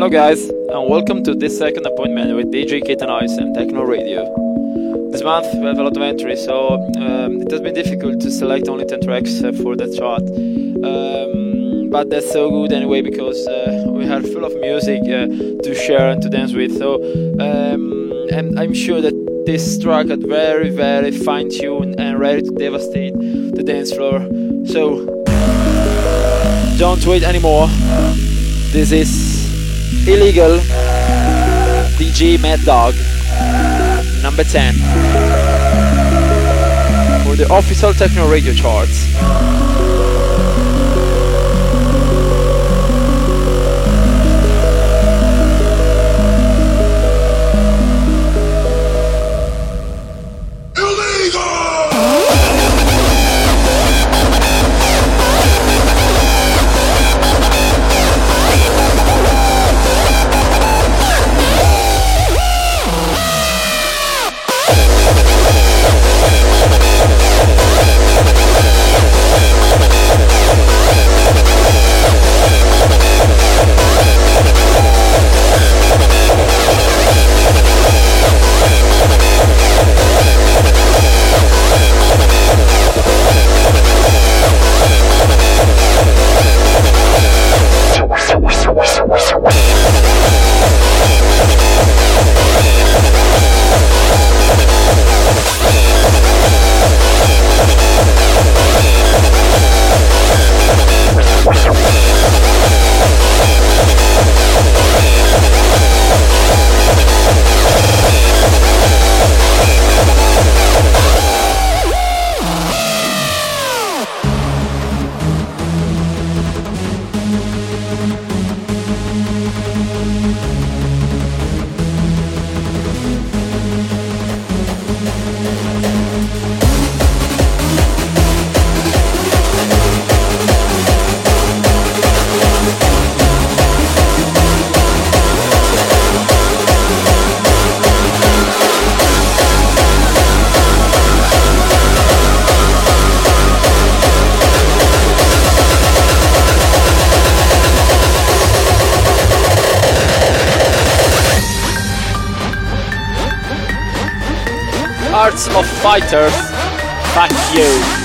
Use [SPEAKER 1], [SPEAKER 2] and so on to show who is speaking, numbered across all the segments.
[SPEAKER 1] Hello guys, and welcome to this second appointment with DJ Ketanoise and Techno Radio. This month we have a lot of entries, so it has been difficult to select only 10 tracks for that chart. But that's so good anyway, because we are full of music to share and to dance with. So and I'm sure that this track is very, very fine-tuned and ready to devastate the dance floor. So don't wait anymore. This is Illegal, DJ Mad Dog, number 10 for the official Techno Radio charts. Hearts of Fighters, fuck you.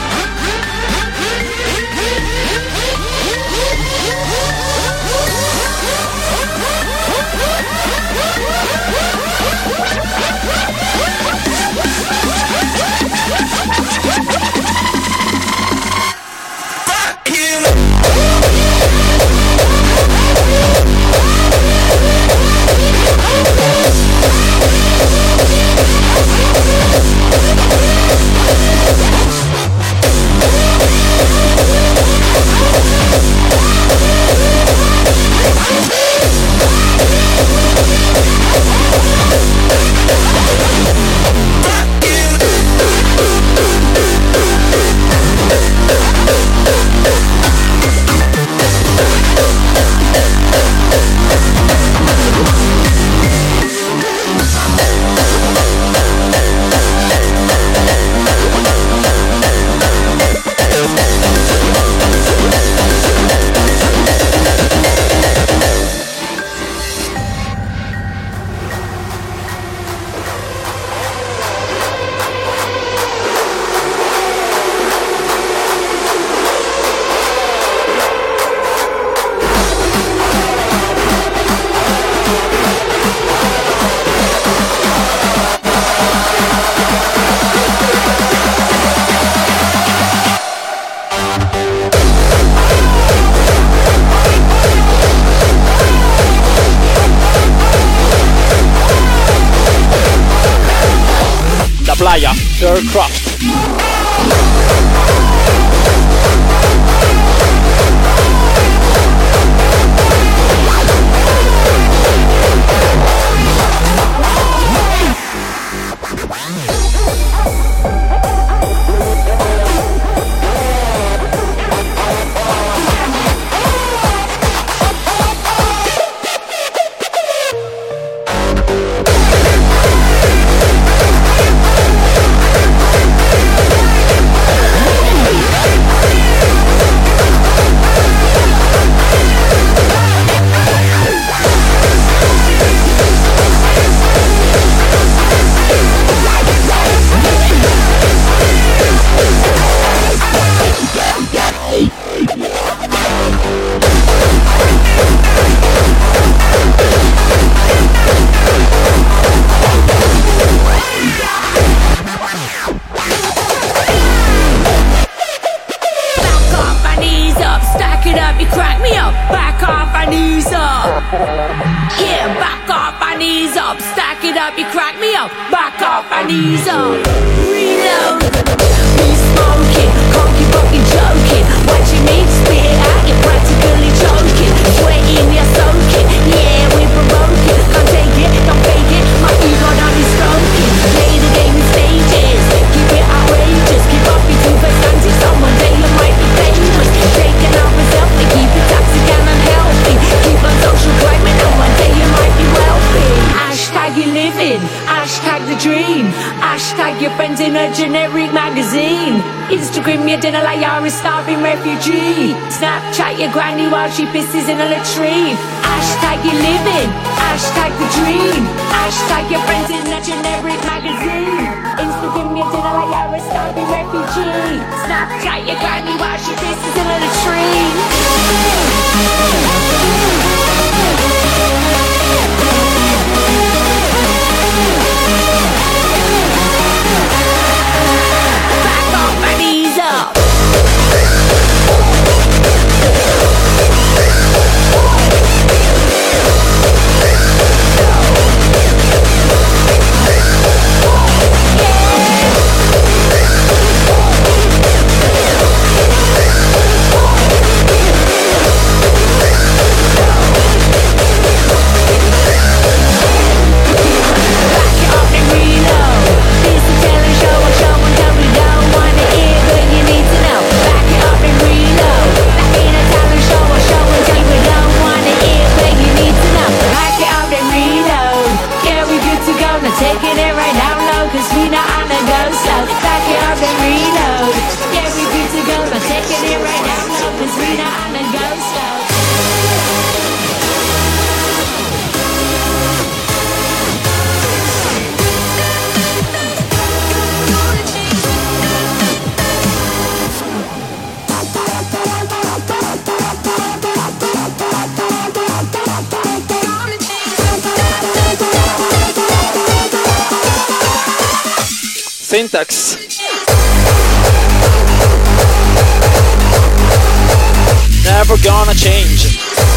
[SPEAKER 1] Playa, Aircraft.
[SPEAKER 2] up, you crack me up. Back off and ease up. Reload. Be smoking, can't keep fucking joking. Watching me spit it out, you're practically choking. Sweating, you're soaking. Yeah, we're provoking. Can't take it, don't fake it. My ego don't be stroking. Play the game in stages. Keep it outrageous. Keep up your two-faced antics. Someone day you might be dangerous. Shaking out myself, they keep it toxic and unhealthy. Keep on social climbing, and one day you might be wealthy. Hashtag you living, hashtag the dream. Hashtag your friends in a generic magazine. Instagram your dinner like you're a starving refugee. Snapchat your granny while she pisses in a latrine. Hashtag you living, hashtag the dream. Hashtag your friends in a generic magazine. Instagram your dinner like you're a starving refugee. Snapchat your granny while she pisses in a latrine. Back off and ease up. Taking it right down low, cause we not on the go slow. Back it up and reload. Yeah, we good to go, but taking it right down low, cause we not on the go slow.
[SPEAKER 1] Syntax. Never gonna change.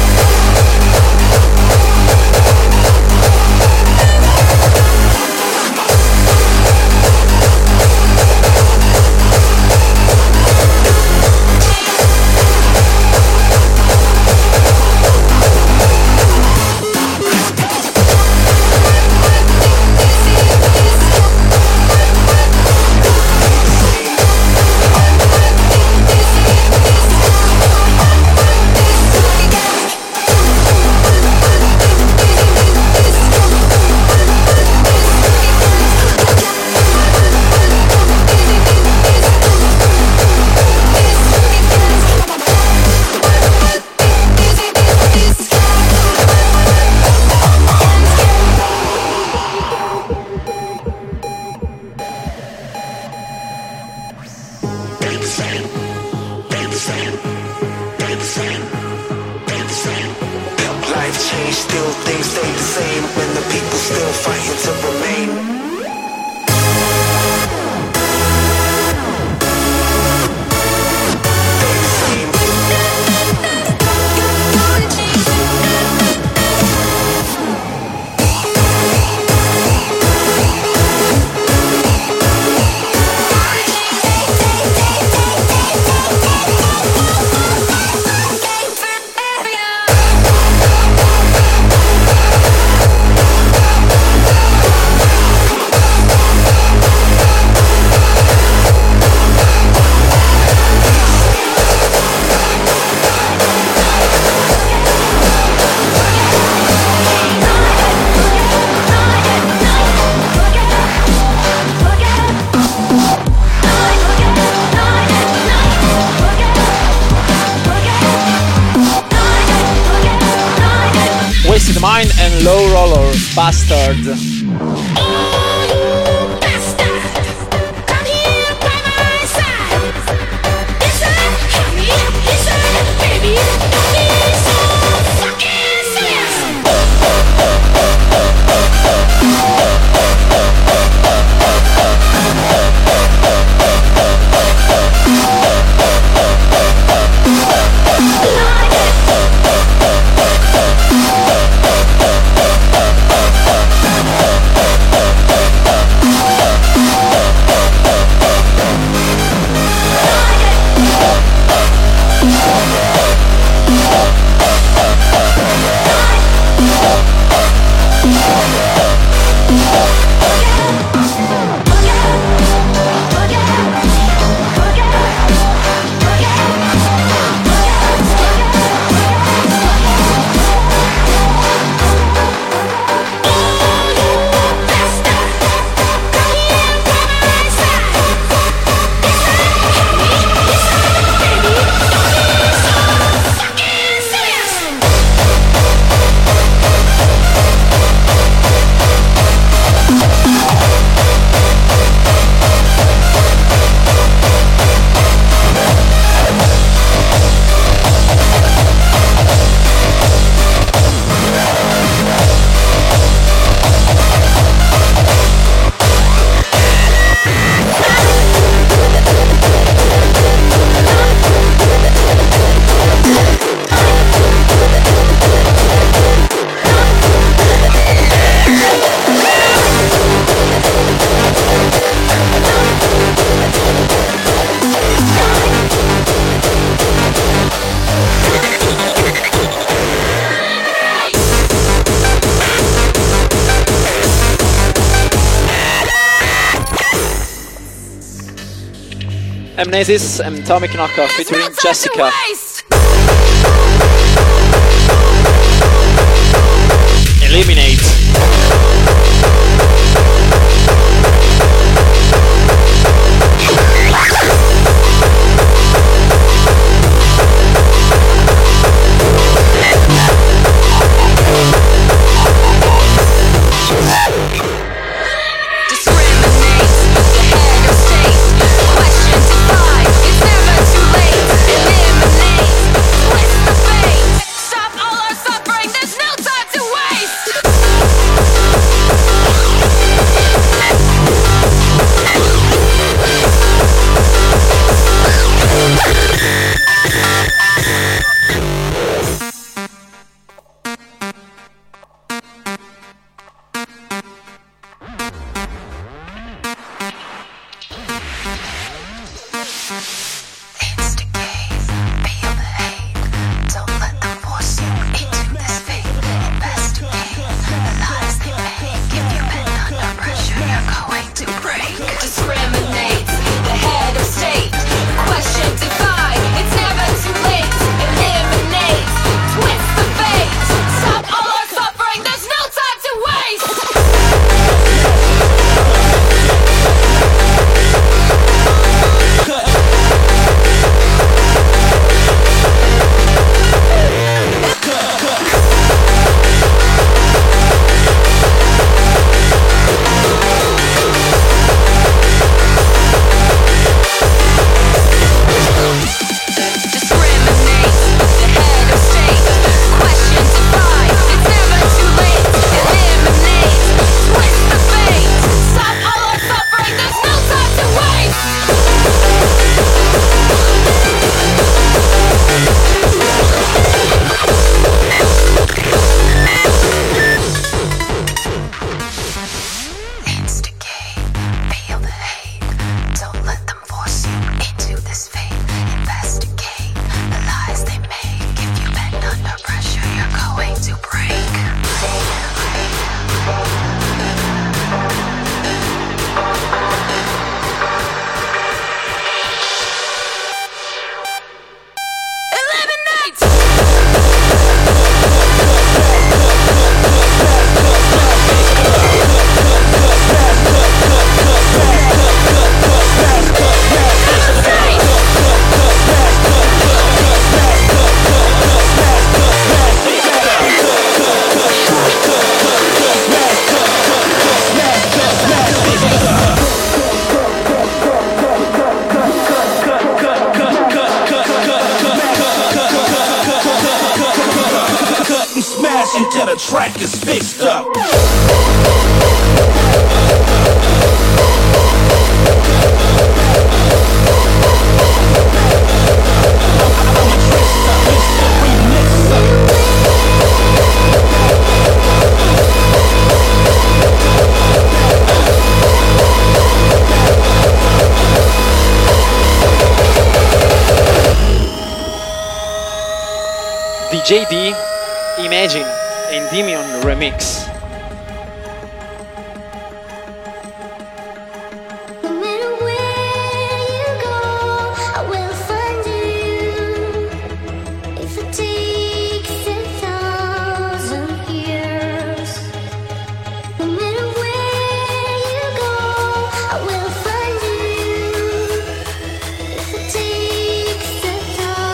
[SPEAKER 1] Mine and Low Roller, Bastard. Amnesis and Atomic Knockoff featuring Jessica. Eliminate.
[SPEAKER 3] Until the track is fixed up.
[SPEAKER 1] DJ D, Imagine, Endymion Remix.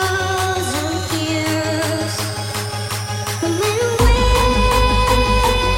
[SPEAKER 4] No matter where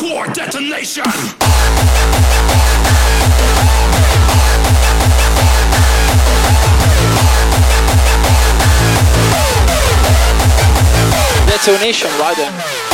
[SPEAKER 3] core detonation.
[SPEAKER 1] Detonation rider.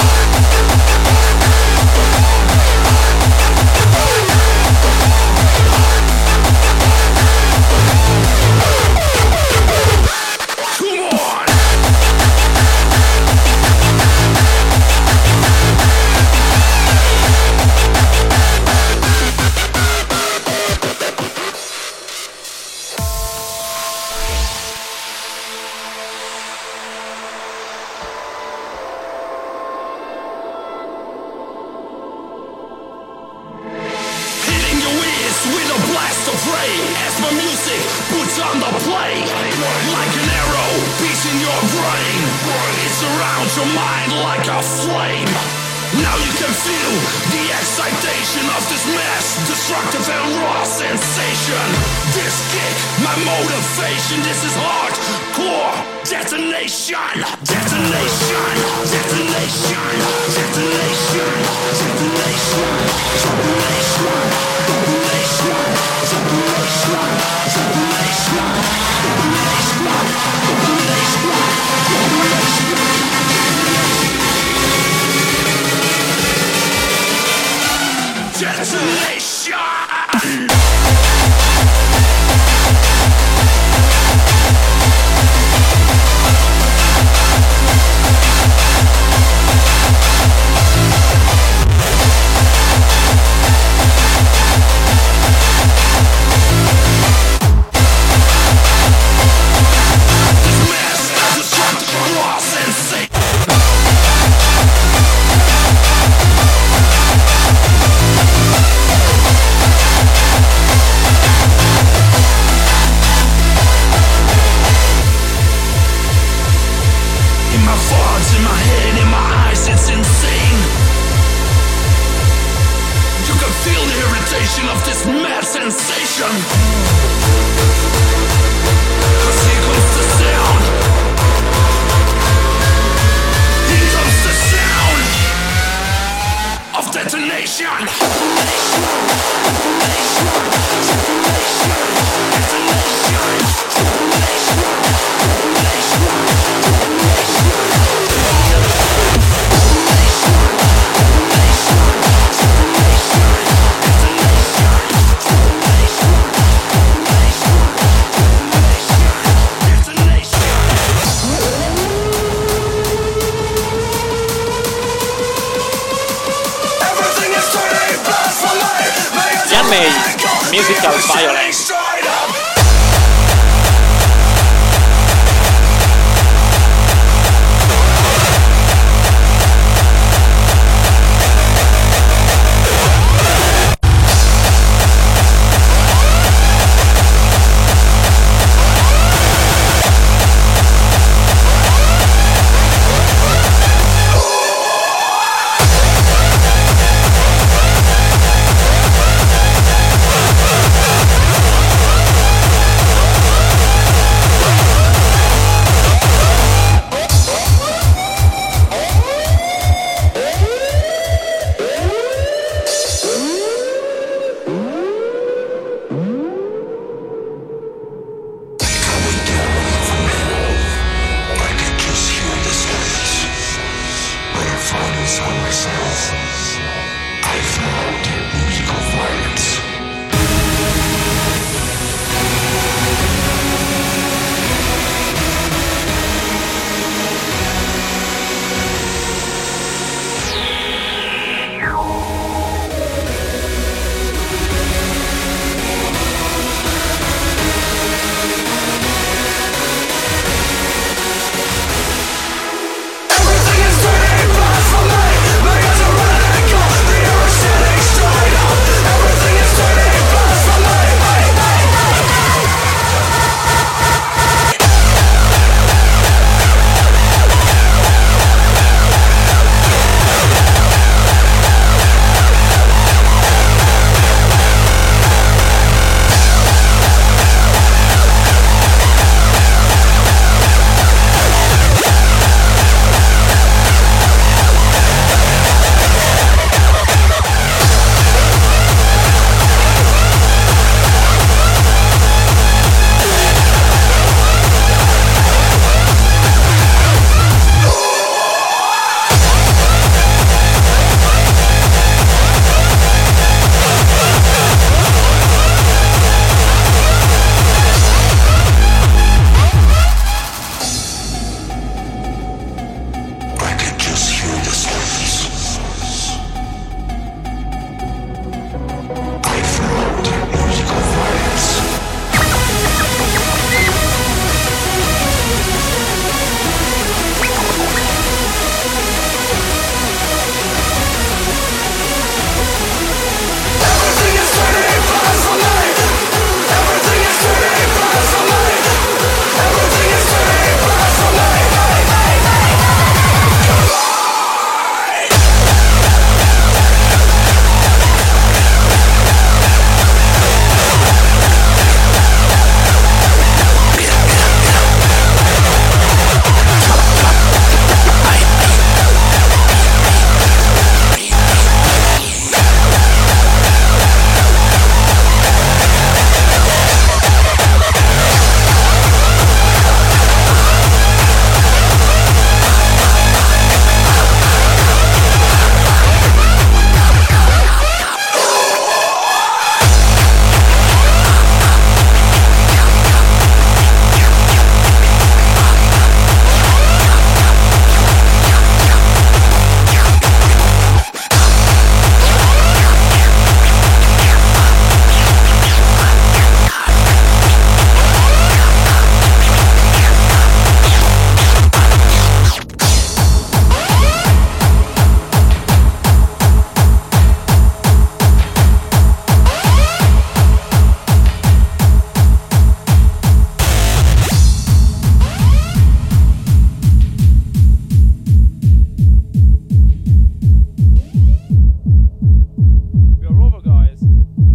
[SPEAKER 1] Musical violence.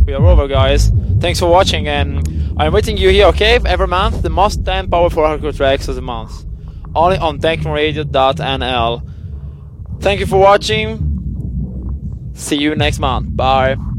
[SPEAKER 1] we are over, guys. Thanks for watching, and I'm waiting you here, okay? Every month, the most 10 powerful hardcore tracks of the month. Only on technoradio.nl. Thank you for watching. See you next month. Bye.